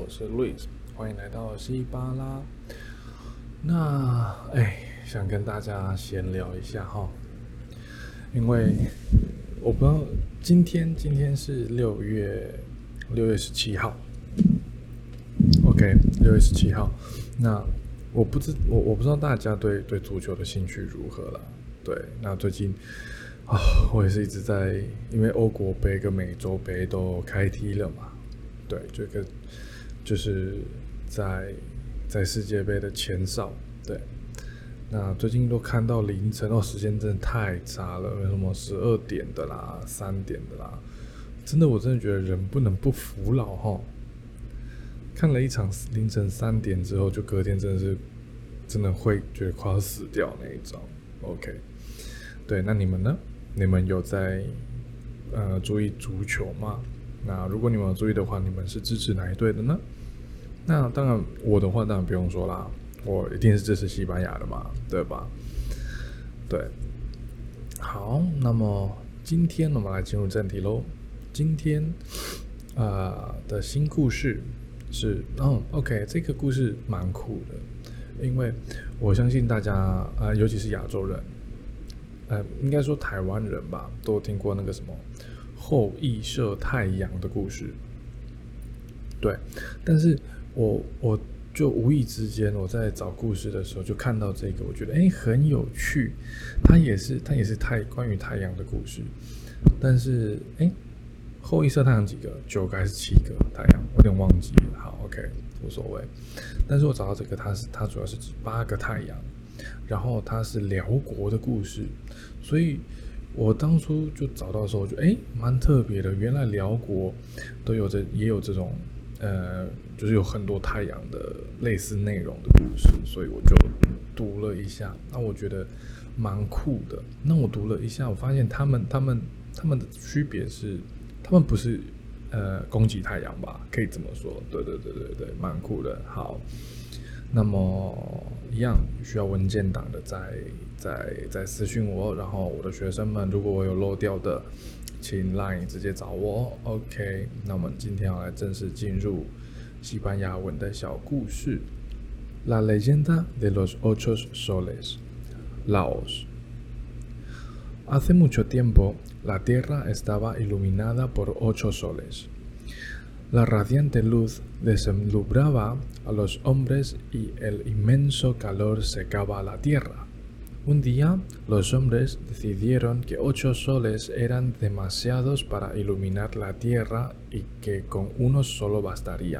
我是 Luis， 歡迎來到西巴拉。那想跟大家閒聊一下哈，因為我不知道今天是6月17號 ，OK， 6月17號。那我不知道大家對足球的興趣如何啦。對，那最近我也是一直在，因為歐國盃跟美洲盃都開踢了嘛。對，這個就是在世界盃的前哨。對，那最近都看到凌晨時間真的太差了，有什麼12點的啦、3點的啦，我真的覺得人不能不服老齁。看了一場凌晨3點之後，就隔天真的會覺得快要死掉那一種。OK， 對，那你們呢？你們有在注意足球嗎？那如果你們有注意的話，你們是支持哪一隊的呢？那當然，我的話當然不用說啦，我一定是支持西班牙的嘛，對吧？對，好，那麼今天我們來進入正題嘍。今天的新故事是OK， 這個故事蠻酷的，因為我相信大家尤其是亞洲人，應該說台灣人吧，都有聽過那個什麼後羿射太陽的故事。對，但是我就無意之間我在找故事的時候就看到這個，我覺得很有趣。它也是關於太陽的故事，但是後羿射太陽幾個？9個還是7個太陽？我有點忘記了。好 ，OK， 無所謂。但是我找到這個，它主要是指8個太陽，然後它是遼國的故事，所以我當初就找到的時候，我覺得蠻特別的。原來遼國也有這種就是有很多太陽的類似內容的故事，所以我就讀了一下。那我覺得蠻酷的。那我讀了一下，我發現他們的區別是，他們不是攻擊太陽吧？可以這麼說。對，蠻酷的。好，那麼一樣需要文件檔的再私訊我，然後我的學生們，如果我有漏掉的，請 LINE 直接找我。OK， 那我們今天要來正式進入西班牙文的小故事。La leyenda de los ocho soles. Laos. Hace mucho tiempo, la tierra estaba iluminada por 8 soles. La radiante luz deslumbraba a los hombres y el inmenso calor secaba la tierra. Un día, los hombres decidieron que 8 soles eran demasiados para iluminar la tierra y que con uno solo bastaría.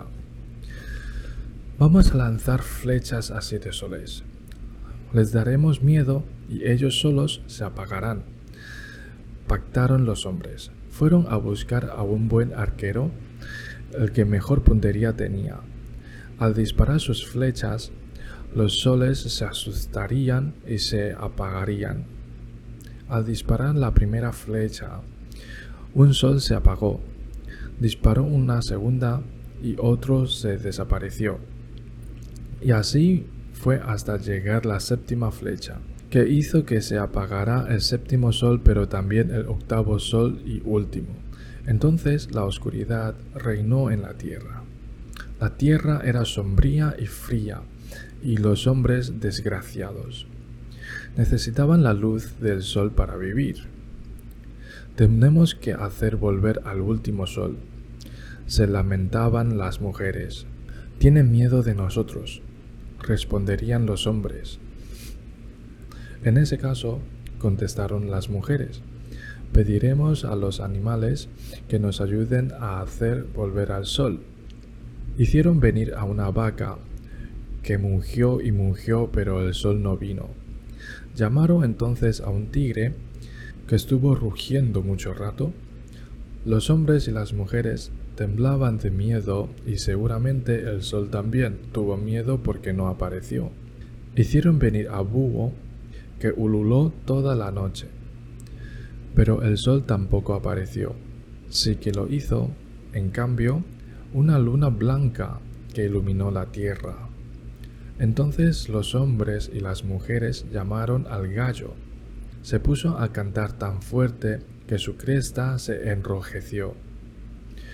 Vamos a lanzar flechas a 7 soles. Les daremos miedo y ellos solos se apagarán. Pactaron los hombres. Fueron a buscar a un buen arquero, el que mejor puntería tenía. Al disparar sus flechas, los soles se asustarían y se apagarían. Al disparar la primera flecha, un sol se apagó. Disparó una segunda y otro se desapareció. Y así fue hasta llegar la séptima flecha, que hizo que se apagara el séptimo sol, pero también el octavo sol y último. Entonces la oscuridad reinó en la tierra. La tierra era sombría y fría, y los hombres desgraciados necesitaban la luz del sol para vivir. Tenemos que hacer volver al último sol. Se lamentaban las mujeres. Tienen miedo de nosotros, responderían los hombres. En ese caso, contestaron las mujeres, pediremos a los animales que nos ayuden a hacer volver al sol. Hicieron venir a una vaca que mungió y mungió, pero el sol no vino. Llamaron entonces a un tigre que estuvo rugiendo mucho rato. Los hombres y las mujeres temblaban de miedo y seguramente el sol también tuvo miedo porque no apareció. Hicieron venir a búho que ululó toda la noche, pero el sol tampoco apareció. Sí que lo hizo, en cambio, una luna blanca que iluminó la tierra. Entonces los hombres y las mujeres llamaron al gallo. Se puso a cantar tan fuerte que su cresta se enrojeció.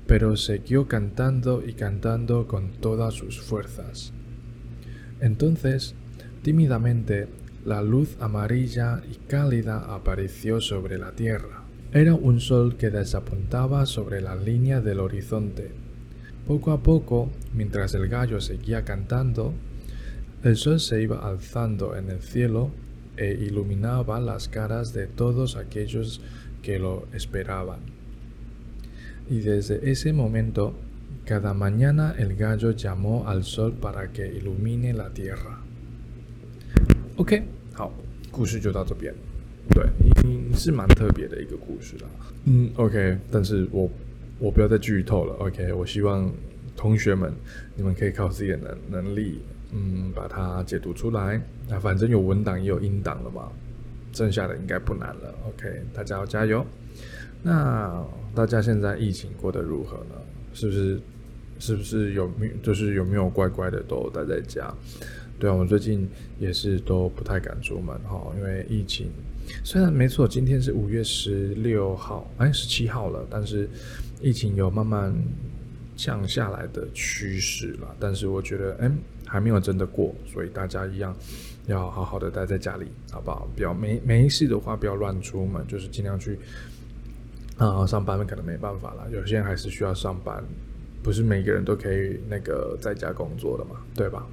pero siguió cantando y cantando con todas sus fuerzas. Entonces, tímidamente, la luz amarilla y cálida apareció sobre la tierra. Era un sol que desapuntaba sobre la línea del horizonte. Poco a poco, mientras el gallo seguía cantando, el sol se iba alzando en el cielo e iluminaba las caras de todos aquellos que lo esperaban. Y desde ese momento, cada mañana el gallo llamó al sol para que ilumine la tierra. OK， 好，故事就到這邊。對，是蠻特別的一個故事啦。OK， 但是我不要再劇透了。OK， 我希望同學們你們可以靠自己的能力，把它解讀出來。那反正有文檔也有音檔了嘛，剩下的應該不難了。OK， 大家要加油。那大家現在疫情過得如何呢？是不是有沒有乖乖的都待在家？對啊，我最近也是都不太敢出門哈，因為疫情雖然沒錯，今天是5月16號，17號了，但是疫情有慢慢降下來的趨勢啦。但是我覺得還沒有真的過，所以大家一樣要好好的待在家裡，好不好？不要沒事的話不要亂出門，就是盡量去上班可能沒辦法啦，有些人還是需要上班，不是每個人都可以在家工作的嘛，對吧？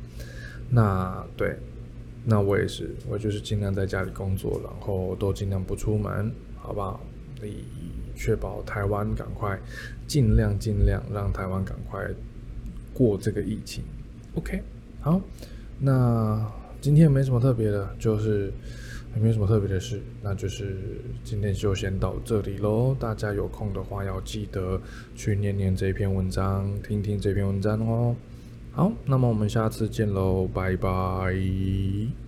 那我也是，我就是盡量在家裡工作，然後都盡量不出門，好不好？以確保台灣趕快盡量讓台灣趕快過這個疫情。OK， 好，那今天也沒什麼特別的，就是也沒什麼特別的事，那就是今天就先到這裡咯。大家有空的話要記得去念這篇文章，聽這篇文章哦。好，那麼我們下次見嘍，拜拜。